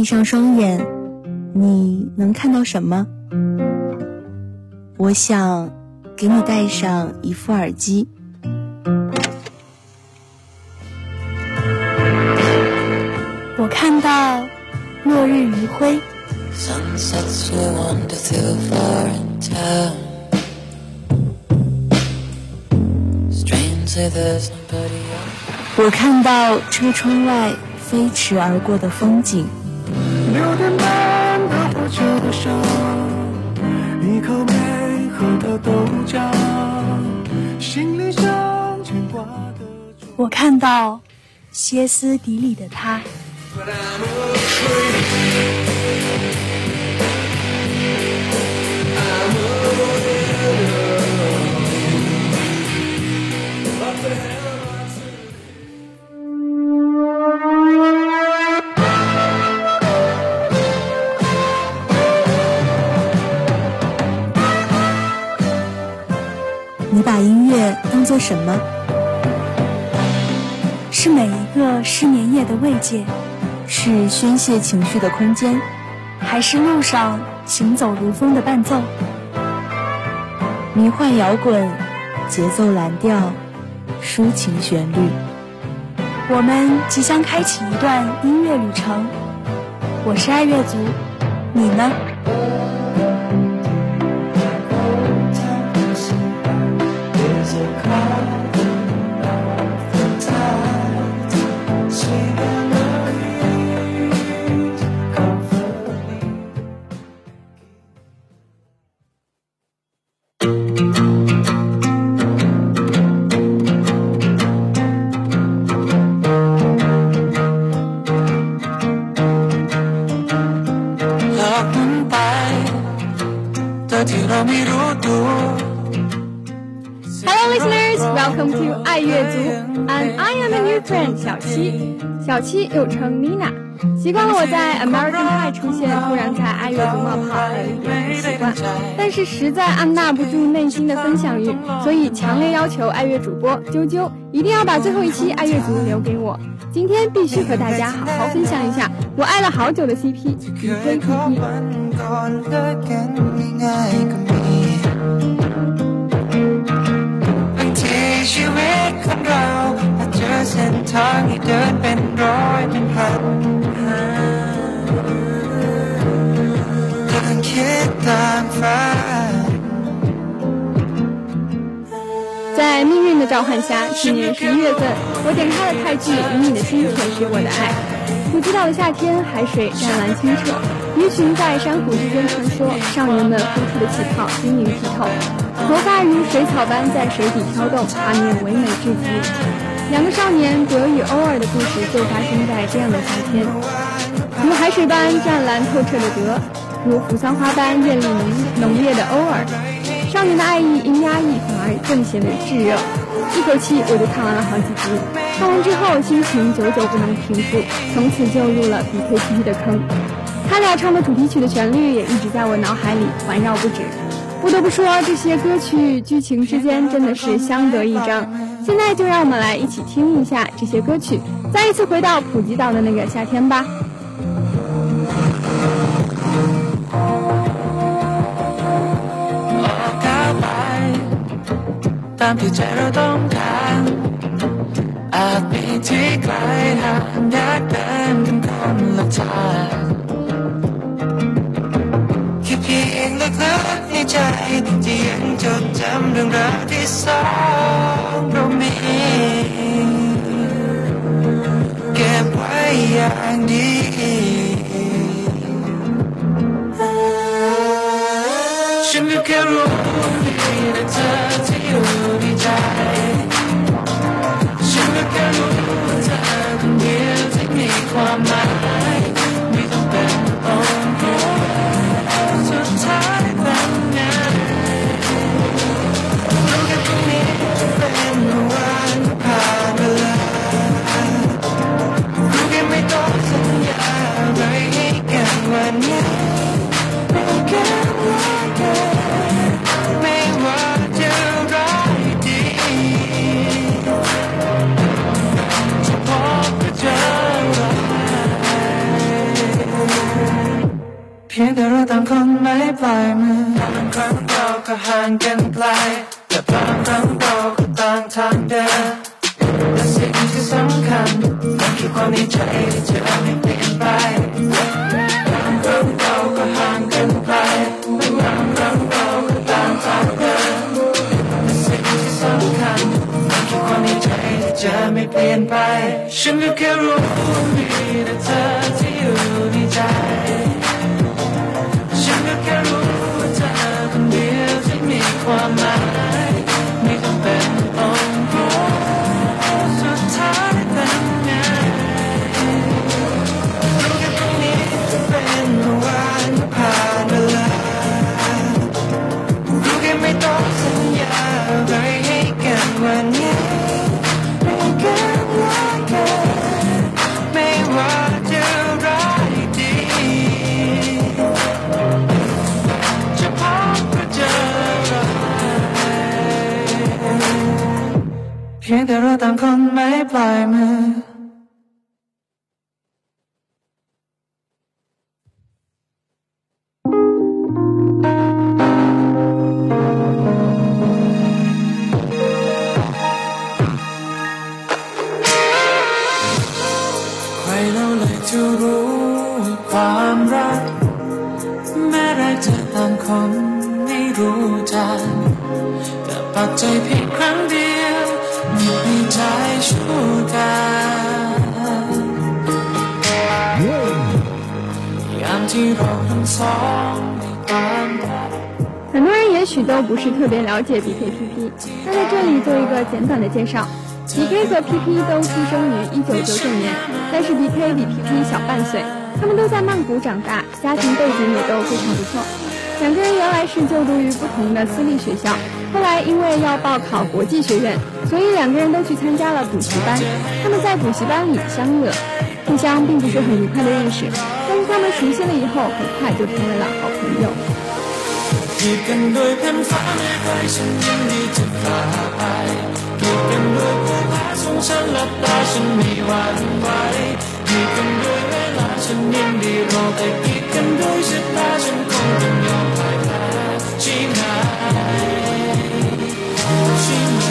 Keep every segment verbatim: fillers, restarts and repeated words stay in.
闭上双眼，你能看到什么？我想给你戴上一副耳机。我看到落日余晖。我看到车窗外飞驰而过的风景。 六点半的火车上，一口没喝的豆浆，心里想牵挂的。 我看到歇斯底里的他。你把音乐当作什么？是每一个失眠夜的慰藉，是宣泄情绪的空间，还是路上行走如风的伴奏？迷幻摇滚，节奏蓝调，抒情旋律。我们即将开启一段音乐旅程。我是爱乐族，你呢？ Hello listeners, welcome to 爱乐族 and I am a new friend 小七。小七又称 Nina， 习惯了我在 American Pie 出现，突然在爱乐族冒泡，有一点不习惯，但是实在按捺不住内心的分享欲，所以强烈要求爱乐主播啾啾一定要把最后一期爱乐族留给我。今天必须和大家好好分享一下我爱了好久的 C P 宇辉 P P。在命运的召唤下，去年十一月份，我点开了泰剧《以你的心舔舐我的爱》。普吉岛的夏天，海水湛蓝清澈，鱼群在珊瑚之间穿梭，少年们呼出的气泡晶莹剔透，头发如水草般在水底飘动，画面唯美至极。两个少年德与欧尔的故事就发生在这样的夏天，如海水般湛蓝透彻的德，如扶桑花般艳丽浓浓烈的欧尔。少年的爱意因压抑反而更显得炙热，一口气我就看完了好几集。看完之后心情久久不能平复，从此就入了比 K P P 的坑。他俩唱的主题曲的旋律也一直在我脑海里环绕不止。不得不说，这些歌曲剧情之间真的是相得益彰。现在就让我们来一起听一下这些歌曲，再一次回到普吉岛的那个夏天吧。 ตามที่ใจเราต้องการอาจมีที่ไกลห่างอยากเดินกันคนละทางแค่เพียงลึกๆในใจที่ยังจดจำเรื่องราวที่สองเรามีเก็บไว้อย่างดีฉันก็แค่รู้ดีนะเธอที่อยู่ในใจฉันก็แค่รู้ว่าเธอคนเดียวที่มีความหมายไม่ต้องเป็นต้องรู้สุดท้ายเป็นไงรู้แค่ตรงนี้จะเป็นวันผ่านเวลารู้แค่ไม่ต้องสัญญาอะไรให้กันวันนี้ไม่แค่ว่ากันไม่ว่าจะร้ายดีจะพบกับเจออะไรไม่ปล่อยมือบางครั้งเราก็ห่างกันไกลแต่บางครั้งเราก็ต่างทางเดินแต่สิ่งที่สำคัญมันคือความในใจที่จะไม่เปลี่ยนไปบางครั้งเราก็ห่างกันไกลแต่บางครั้งเราก็ต่างทางเดินแต่สิ่งที่สำคัญมันคือความในใจที่จะไม่เปลี่ยนไปฉันก็แค่รู้ว่ามีแต่เธอที่อยู่ในใจฉันก็แค่รู้ว่าเธอคนเดียวที่มีความหมายไม่จำเป็นต้องพูดสุดท้ายเป็นไงรู้แค่ตรงนี้จะเป็นวันผ่านเวลารู้แค่ไม่ต้องสัญญาอะไรให้กันวันนี้ไม่กันว่ากันไม่ว่าจะร้ายดีจะพบหรือเจออะไรเพียงแต่เราต่างคนไม่ปล่อยมือใครเราเลยจะรู้ความรักแม้รักจะต่างคนไม่รู้จักแต่ปักใจเพียงครั้งเดียวมีใจชั่วกันยามที่เราทั้งสองมีความรัก很多人也许都不是特别了解 B K P P， 那在这里做一个简短的介绍。B K 和 P P 都出生于一九九九年，但是 B K 比 P P 小半岁，他们都在曼谷长大，家庭背景也都非常不错。两个人原来是就读于不同的私立学校，后来因为要报考国际学院，所以两个人都去参加了补习班。他们在补习班里相遇了，互相并不是很愉快的认识，但是他们熟悉了以后，很快就成为了好朋友。 กีดกันด้วยแผ่นฟ้าไม่ไกลฉันยินดีจะพาไปกีดกันด้วยภูผาสูงฉันหลับตาฉันไม่หวั่นไหวกีดกันด้วยเวลาฉันยินดีรอแต่กีดกันด้วยชะตาฉันคงต้องยอมพ่ายแพ้ใช่ไหมใช่ไหม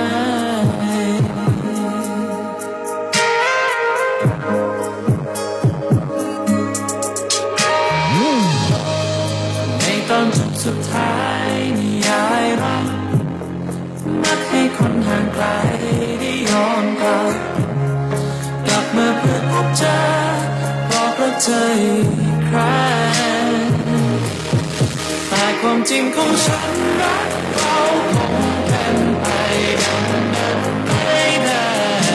ตอนจบสุดท้ายนิยายรักมักให้คนห่างไกลได้ย้อนกลับกลับมาเพื่อพบเจอบอกรักเธออีกครั้งแต่ความจริงของฉันรักเราคงเป็นไปดังนั้นไม่ได้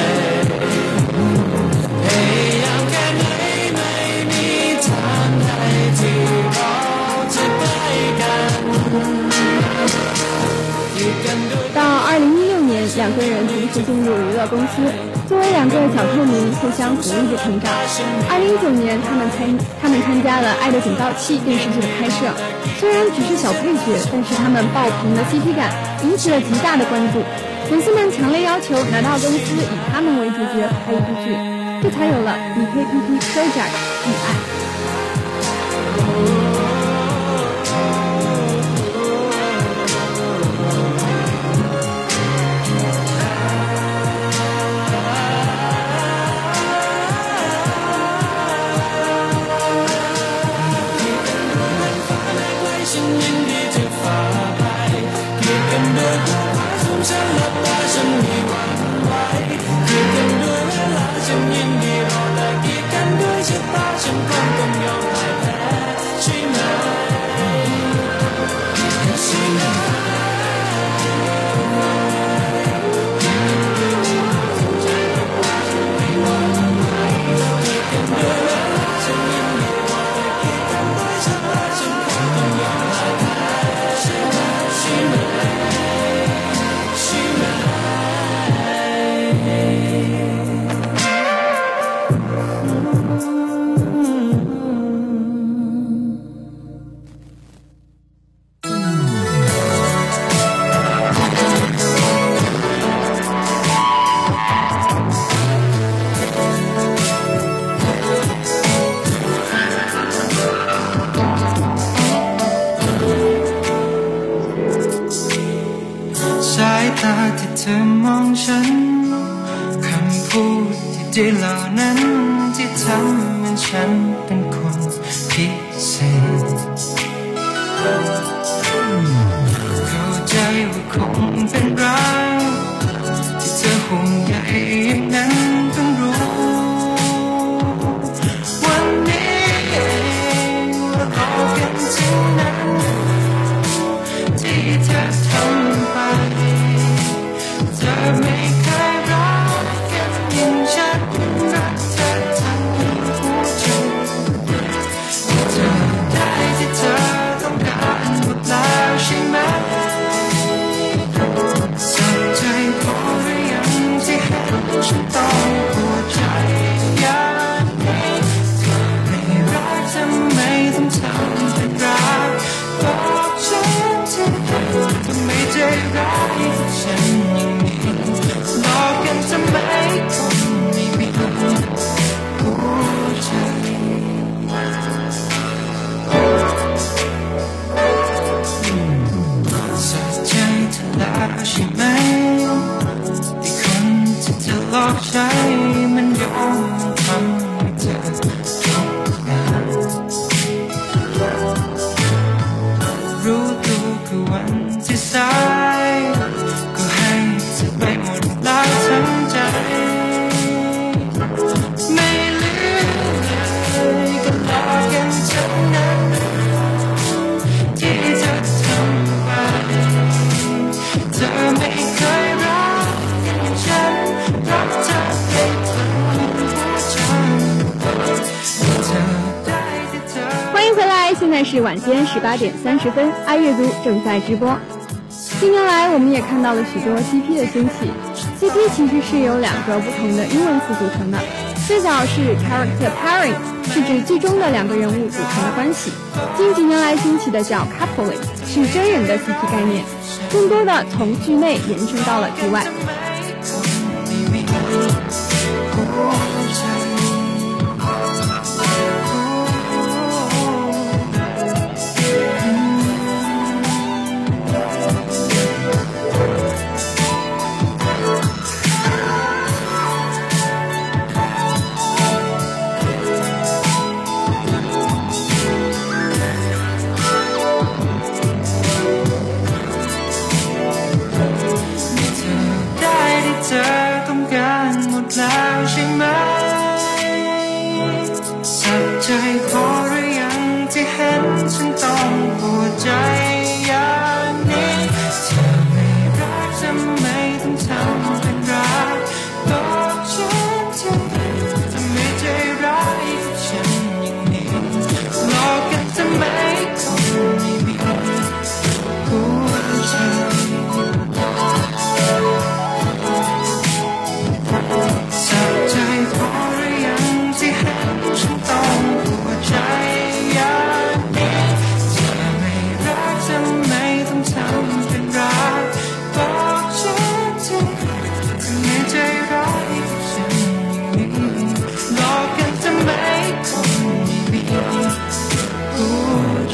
พยายามแค่ไหนไม่มีทางใดที่เรา到二零一六年，两个人同时进入娱乐公司，作为两个小透明，互相鼓励着成长。二零一九年，他们参他们参加了《爱的警报器》电视剧的拍摄，虽然只是小配角，但是他们爆棚的 C P 感引起了极大的关注。粉丝们强烈要求拿到公司以他们为主角拍一部剧，这才有了 B K P P Project 遇爱。 ฉันคงต้องยอมพ่ายแพ้ใช่ไหมพูดที่ดีเหล่านั้นที่ทำให้ฉันเป็นคนพิเศษเข้าใจว่าคงเป็นรักที่เธอห่วงใยอย่างนั้นต้องรู้วันนี้เองเราพบกันที่นั้นที่เธอทำไปเธอไม่เคยรักกันอย่างฉันรักเธอทั้งหัวใจเธอได้ที่เธอต้องการหมดแล้วใช่ไหมสักใจพอหรือยังที่เห็นฉันต้องหัวใจอย่างนี้เธอไม่รักทำไมต้องทำเป็นรักบอกฉันทีทำไมใจร้ายกับฉันอย่างนี้หลอกกันทำไมคนไม่มีหัวใจสะใจเธอแล้วใช่ไหมที่คนที่เธอหลอกใช้มันยอมทำให้เธอทุกอย่างรู้ตัวคือวันที่สายก็ให้เธอไปหมดแล้วทั้งใจไม่เหลือเลยก็หลอกกันทั้งนั้นที่เธอทำไปเธอไม่เคยรักอย่างฉันรักเธอให้ทั้งหัวใจเธอได้ที่เธอ欢迎回来，现在是晚间十八点三十分，爱阅读正在直播。近年来，我们也看到了许多 C P 的兴起。C P 其实是由两个不同的英文词组成的，最早是 character pairing， 是指剧中的两个人物组成的关系。近几年来兴起的叫 coupling， 是真人的 C P 概念，更多的从剧内延伸到了剧外。 แล้วใช่ไหมสักใจพอหรือยังที่เห็นฉันต้องหัวใจอย่างนี้เธอไม่รักทำไมต้องทำเป็นรักบอกฉันทีทำไมใจร้ายกับฉันอย่างนี้หลอกกันทำไมคนไม่มีหัวใจสักใจพอหรือยังที่เห็นฉันต้องหัวใจอย่างนี้เธอไม่รักทำไมต้องทำเป็นรักบอกฉันทีทำไมใจร้ายกับฉันอย่างนี้หลอกกันทำไมคนไม่มีหัวใจ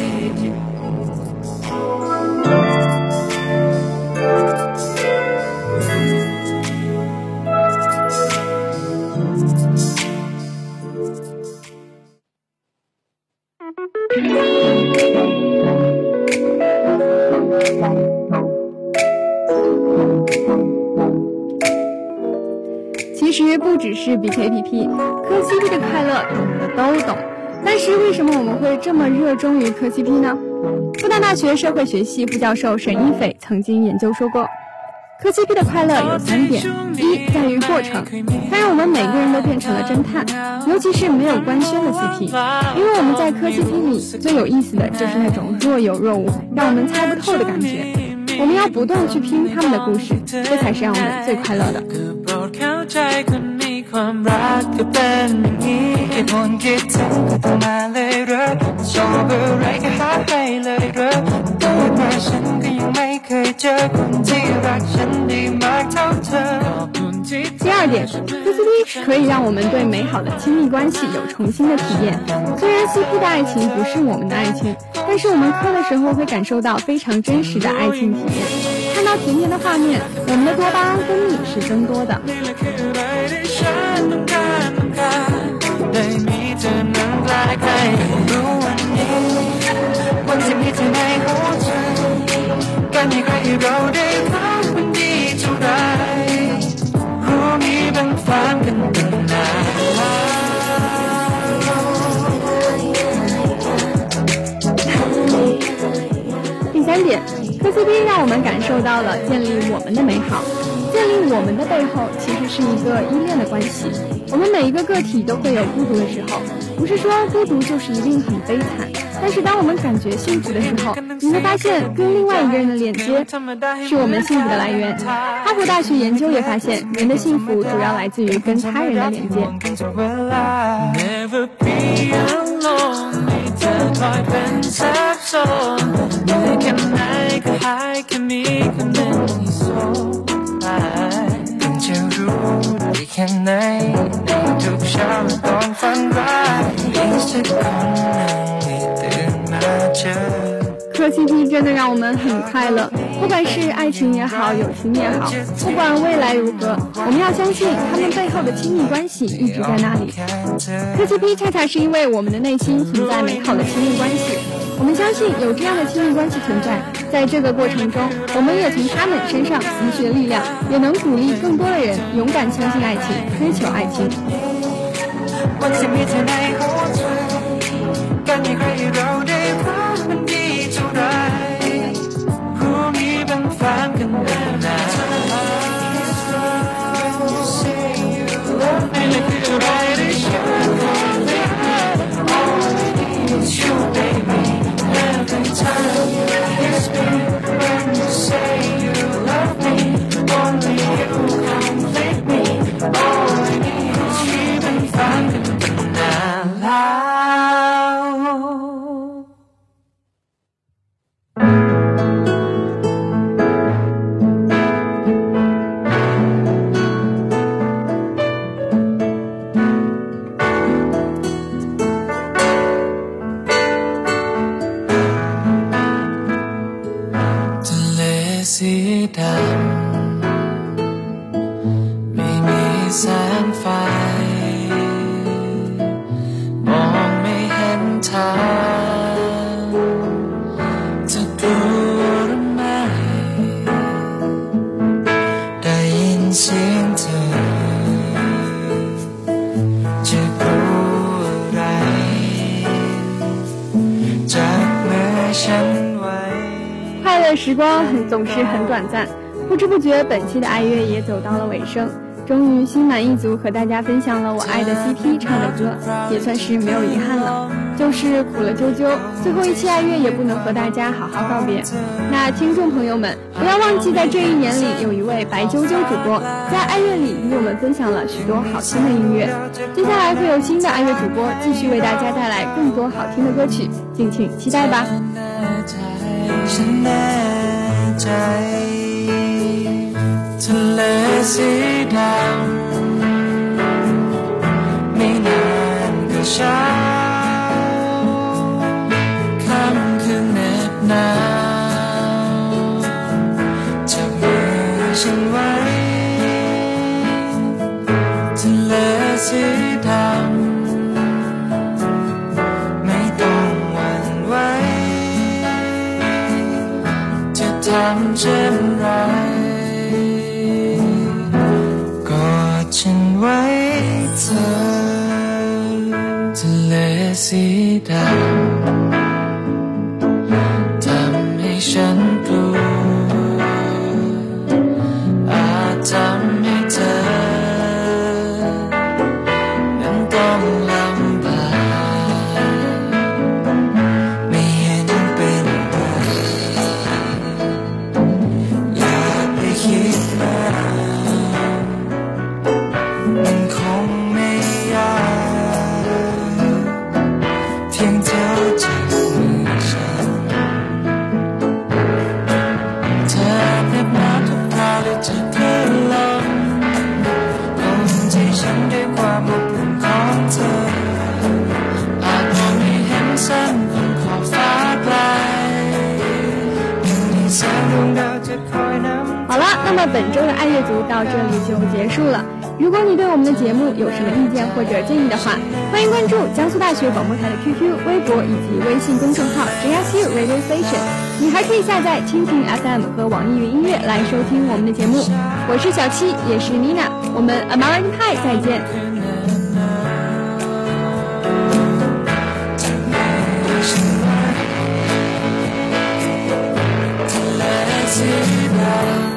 其实不只是 B K P P， 磕 C P 的快乐懂的都懂。但是为什么我们会这么热衷于磕 C P 呢？复旦大学社会学系副教授沈一斐曾经研究说过，磕 C P 的快乐有三点：一，在于过程，它让我们每个人都变成了侦探，尤其是没有官宣的 C P， 因为我们在磕 C P 里最有意思的就是那种若有若无，让我们猜不透的感觉。我们要不断去拼他们的故事，这才是让我们最快乐的。 ความรักก็เป็นอย่างนี้แค่คนคิดถึงก็ต้องมาเลยเหรอชอบอะไรก็หาให้เลยเหรอเกิดมาฉันก็ยังไม่เคยเจอคนที่รักฉันได้มากเท่าเธอ第二点 ，K C P 可以让我们对美好的亲密关系有重新的体验。虽然 C P 的爱情不是我们的爱情，但是我们磕的时候会感受到非常真实的爱情体验。看到甜甜的画面，我们的多巴胺分泌是增多的。 C P 让我们感受到了建立我们的美好，建立我们的背后其实是一个依恋的关系。我们每一个个体都会有孤独的时候，不是说孤独就是一定很悲惨，但是当我们感觉幸福的时候，你会发现跟另外一个人的连接是我们幸福的来源。哈佛大学研究也发现，人的幸福主要来自于跟他人的连接。 แค่ไหนในทุกเช้าและตอนฝันร้ายมีสักคนหนึ่งที่ตื่นมาเจอ磕 C P 真的让我们很快乐，不管是爱情也好，友情也好，不管未来如何，我们要相信他们背后的亲密关系一直在那里。磕 C P 恰恰是因为我们的内心存在美好的亲密关系，我们相信有这样的亲密关系存在，在这个过程中，我们也从他们身上汲取了力量，也能鼓励更多的人勇敢相信爱情，追求爱情。 วันที่มีเธอในหัวใจกันอย่างไรเราได้รักมันดีเท่าไรพรุ่งนี้เป็นแฟนกันแน่นอนไม่เลยคืออะไรที่ฉันขอได้ You baby every time it's me when you say you love me only you complete me all I need is youเป็นแฟนกันสีดำไม่มีแสงไฟมองไม่เห็นทางจะดูหรือไม่ได้ยินเสียงเธอจะรู้อะไรจากเมื่อฉัน快乐时光很总是很短暂，不知不觉本期的爱乐也走到了尾声，终于心满意足和大家分享了我爱的 C P 唱的歌，也算是没有遗憾了。就是苦了啾啾，最后一期爱乐也不能和大家好好告别。那听众朋友们，不要忘记在这一年里有一位白啾啾主播在爱乐里与我们分享了许多好听的音乐，接下来会有新的爱乐主播继续为大家带来更多好听的歌曲，敬请期待吧。 ฉันแน่ใจทะเลสีดำไม่นานก็เช้าค่ำคืนเหน็บหนาวจับมือฉันไว้ทะเลสีดำไม่ต้องหวั่นไหวทำเช่นไรกอดฉันไว้เธอทะเลสีดำทำให้ฉันกลัวอาจทำให้เธอนั้นต้องลำบากไม่เห็นเป็นไรคิดมามันคงไม่ยากเพียงเธอจับมือฉันเธอเรียบน้ำทุกคราวเลยจะเคลื่อนลมห่มใจฉันด้วยความอบอุ่นของเธออาจมองไม่เห็นเส้นบนขอบฟ้าไกลยังมีแสงดวงดาวจะคอยนำ好了，那么本周的爱乐族到这里就结束了。如果你对我们的节目有什么意见或者建议的话，欢迎关注江苏大学广播台的 Q Q、微博以及微信公众号 J S U Radio Station。你还可以下载蜻蜓 F M 和网易云音乐来收听我们的节目。我是小七，也是 Nina， 我们 American Pie 再见。 Let 知道。